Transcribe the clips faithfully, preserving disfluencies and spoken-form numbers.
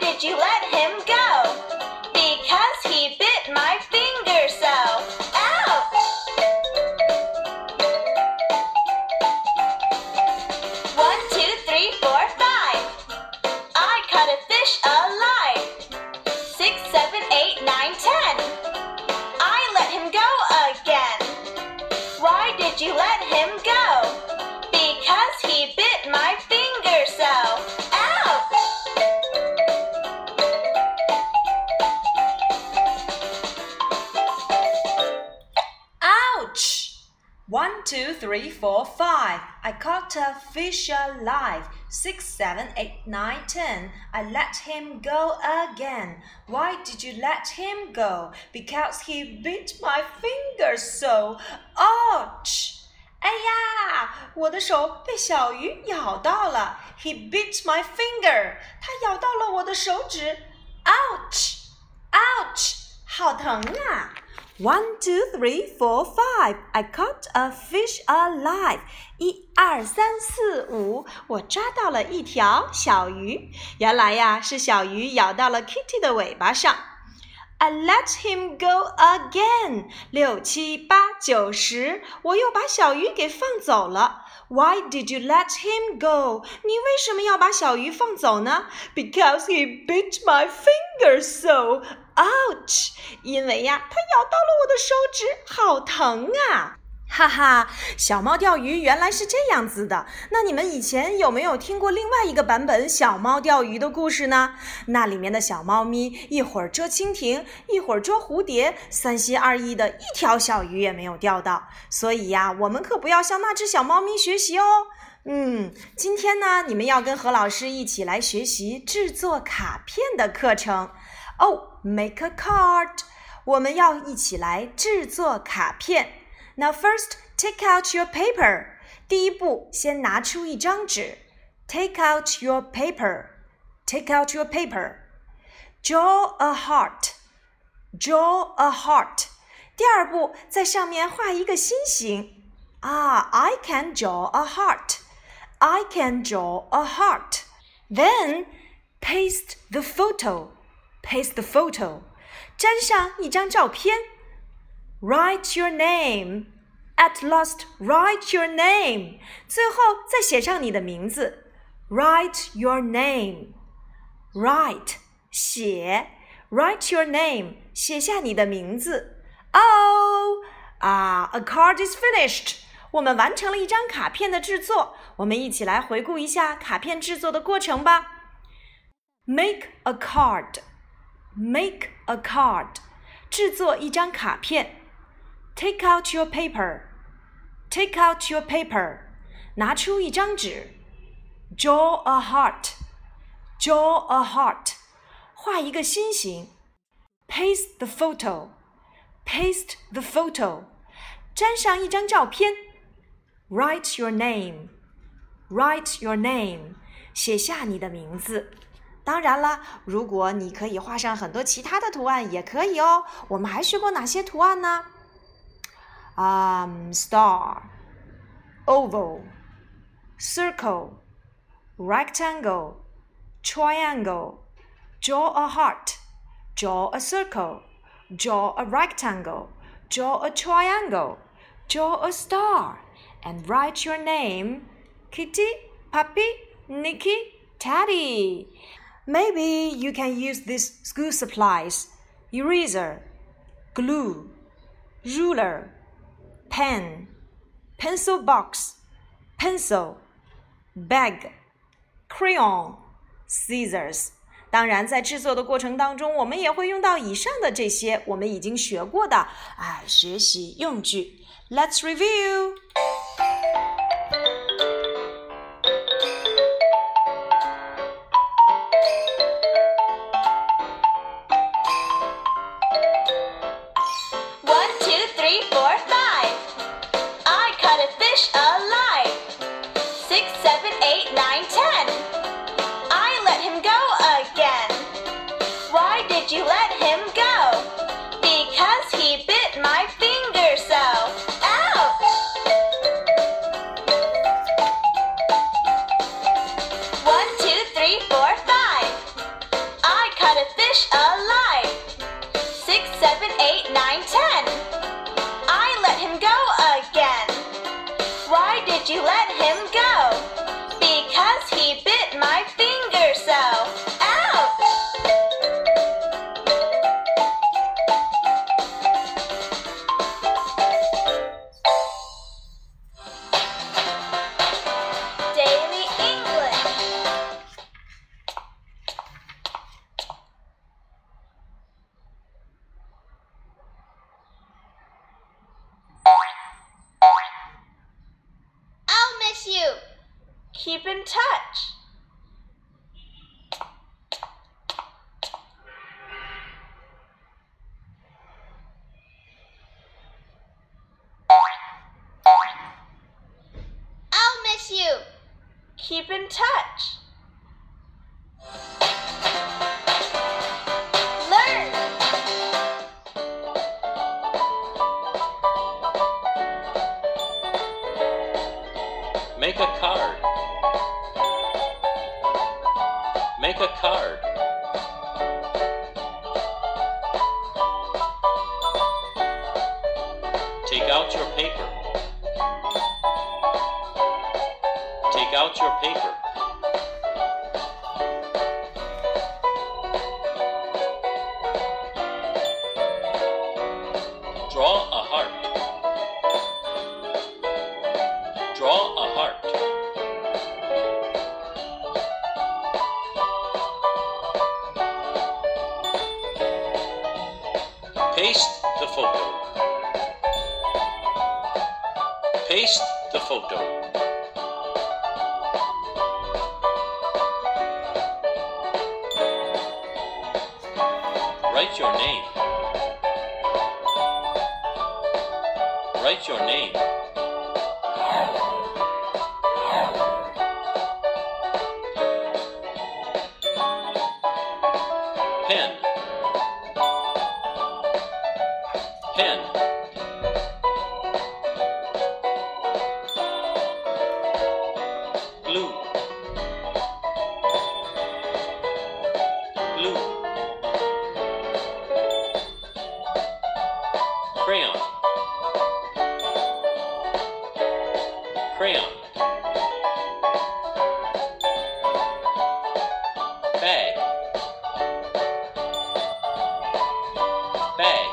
did you let him go? Because he bit my finger so. Ouch! One, two, three, four, five. I caught a fish alive. Six, seven, eight, nine, ten. I let him go again. Why did you let him go? Because he bit my finger so. Ouch! Ouch! One, two, three, four, five. I caught a fish alive. Six, seven, eight, nine, ten. I let him go again. Why did you let him go? Because he bit my finger so. Ouch! 哎呀，我的手被小鱼咬到了。He bit my finger. 他咬到了我的手指。Ouch! Ouch! 好疼啊！One, two, three, four, five. I caught a fish alive. 一二三四五，我抓到了一条小鱼。原来呀，是小鱼咬到了 Kitty 的尾巴上。I let him go again. 六七八九十，我又把小鱼给放走了。Why did you let him go? 你为什么要把小鱼放走呢？ Because he bit my finger so. Ouch! 因为呀，他咬到了我的手指，好疼啊！哈哈，小猫钓鱼原来是这样子的。那你们以前有没有听过另外一个版本小猫钓鱼的故事呢？那里面的小猫咪一会儿捉蜻蜓，一会儿捉蝴蝶，三心二意的一条小鱼也没有钓到。所以呀，我们可不要向那只小猫咪学习哦。嗯，今天呢，你们要跟何老师一起来学习制作卡片的课程。哦 ，make a card， 我们要一起来制作卡片。Now first, take out your paper. 第一步，先拿出一张纸。Take out your paper. Take out your paper. Draw a heart. Draw a heart. 第二步，在上面画一个心形。啊 I can draw a heart. I can draw a heart. Then, paste the photo. Paste the photo. 粘上一张照片。Write your name. At last, write your name. 最后再写上你的名字。Write your name. Write, 写。Write your name, 写下你的名字。Oh, ah, a card is finished. 我们完成了一张卡片的制作。我们一起来回顾一下卡片制作的过程吧。Make a card. Make a card. 制作一张卡片。Take out your paper. Take out your paper. 拿出一张纸。Draw a heart. Draw a heart. 画一个心形。Paste the photo. Paste the photo. 粘上一张照片。Write your name. Write your name. 写下你的名字。当然了，如果你可以画上很多其他的图案也可以哦。我们还学过哪些图案呢Um, star, oval, circle, rectangle, triangle, draw a heart, draw a circle, draw a rectangle, draw a triangle, draw a star, and write your name, Kitty, Puppy, Nikki, Teddy. Maybe you can use these school supplies: eraser, glue, ruler, pen, pencil box, pencil, bag, crayon, scissors. 当然，在制作的过程当中，我们也会用到以上的这些我们已经学过的啊学习用具。Let's review. Fish alive. Six, seven, eight, nine, ten. I let him go again. Why did you let him go? Because he bit my finger so. Ouch! Keep in touch. I'll miss you. Keep in touch. Learn. Make a card. Make a card. Take out your paper. Take out your paper. Draw a heart. Draw a heart. Paste the photo. Paste the photo. Write your name. Write your name. Pen. Pen. Glue. Glue. Crayon. Crayon. Bag. Bag.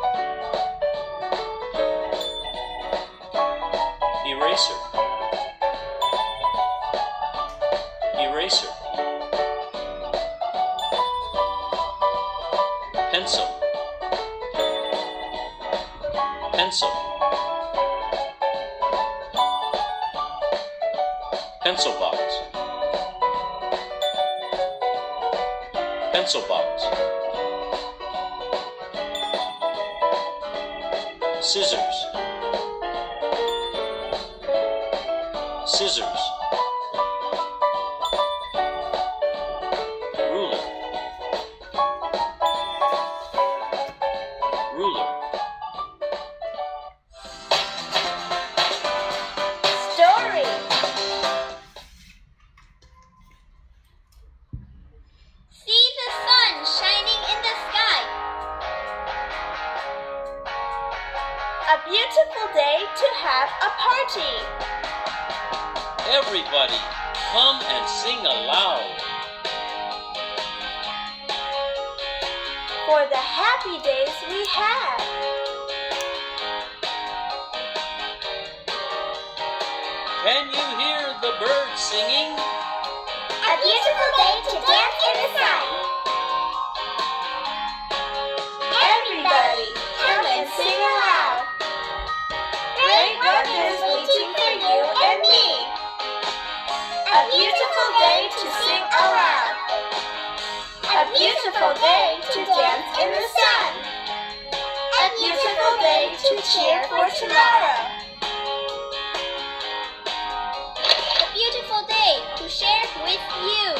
Eraser. Eraser. Pencil. Pencil. Pencil box. Pencil box. Scissors. Scissors. Ruler. Ruler. Story. See the sun shining in the sky. A beautiful day to have a party. Everybody, come and sing aloud. For the happy days we have. Can you hear the birds singing? A beautiful day to dance in the sun. Everybody, come and sing aloud. Great wonders waiting for you and me. A beautiful day to sing aloud. A beautiful day to dance in the sun. A beautiful day to cheer for tomorrow. A beautiful day to share with you.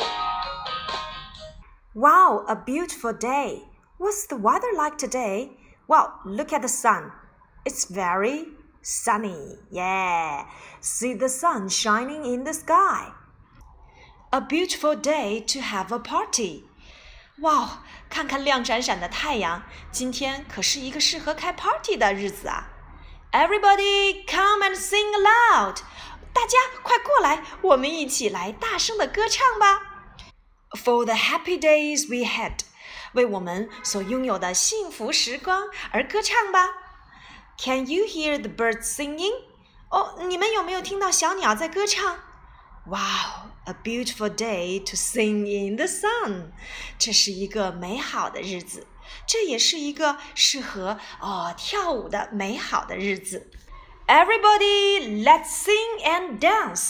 Wow, a beautiful day. What's the weather like today? Well, look at the sun. It's very sunny. Yeah. See the sun shining in the sky. A beautiful day to have a party. 哇，看看亮闪闪的太阳，今天可是一个适合开 party 的日子啊 ！Everybody come and sing aloud！ 大家快过来，我们一起来大声的歌唱吧 ！For the happy days we had， 为我们所拥有的幸福时光而歌唱吧 ！Can you hear the birds singing？ 哦，你们有没有听到小鸟在歌唱 ？Wow！ A beautiful day to sing in the sun， 这是一个美好的日子，这也是一个适合哦跳舞的美好的日子。Everybody, let's sing and dance.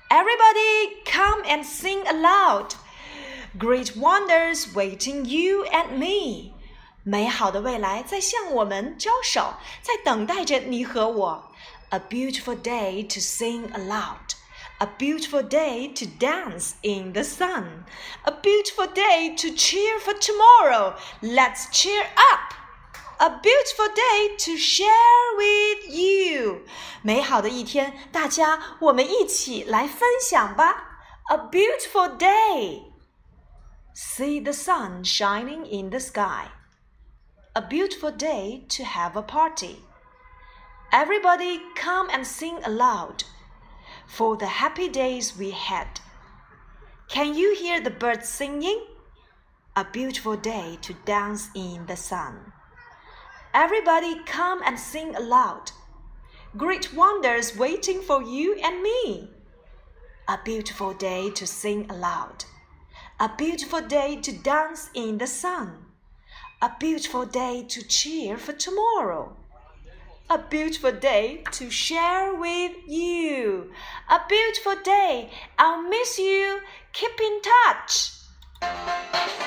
Everybody come and sing aloud. Great wonders waiting you and me. 美好的未来在向我们招手，在等待着你和我。A beautiful day to sing aloud. A beautiful day to dance in the sun. A beautiful day to cheer for tomorrow. Let's cheer up. A beautiful day to share with you. 美好的一天，大家我们一起来分享吧。A beautiful day. See the sun shining in the sky. A beautiful day to have a party. Everybody come and sing aloud for the happy days we had. Can you hear the birds singing? A beautiful day to dance in the sun. Everybody come and sing aloud. Great wonders waiting for you and me. A beautiful day to sing aloud. A beautiful day to dance in the sun. A beautiful day to cheer for tomorrow. A beautiful day to share with you. A beautiful day. I'll miss you. Keep in touch.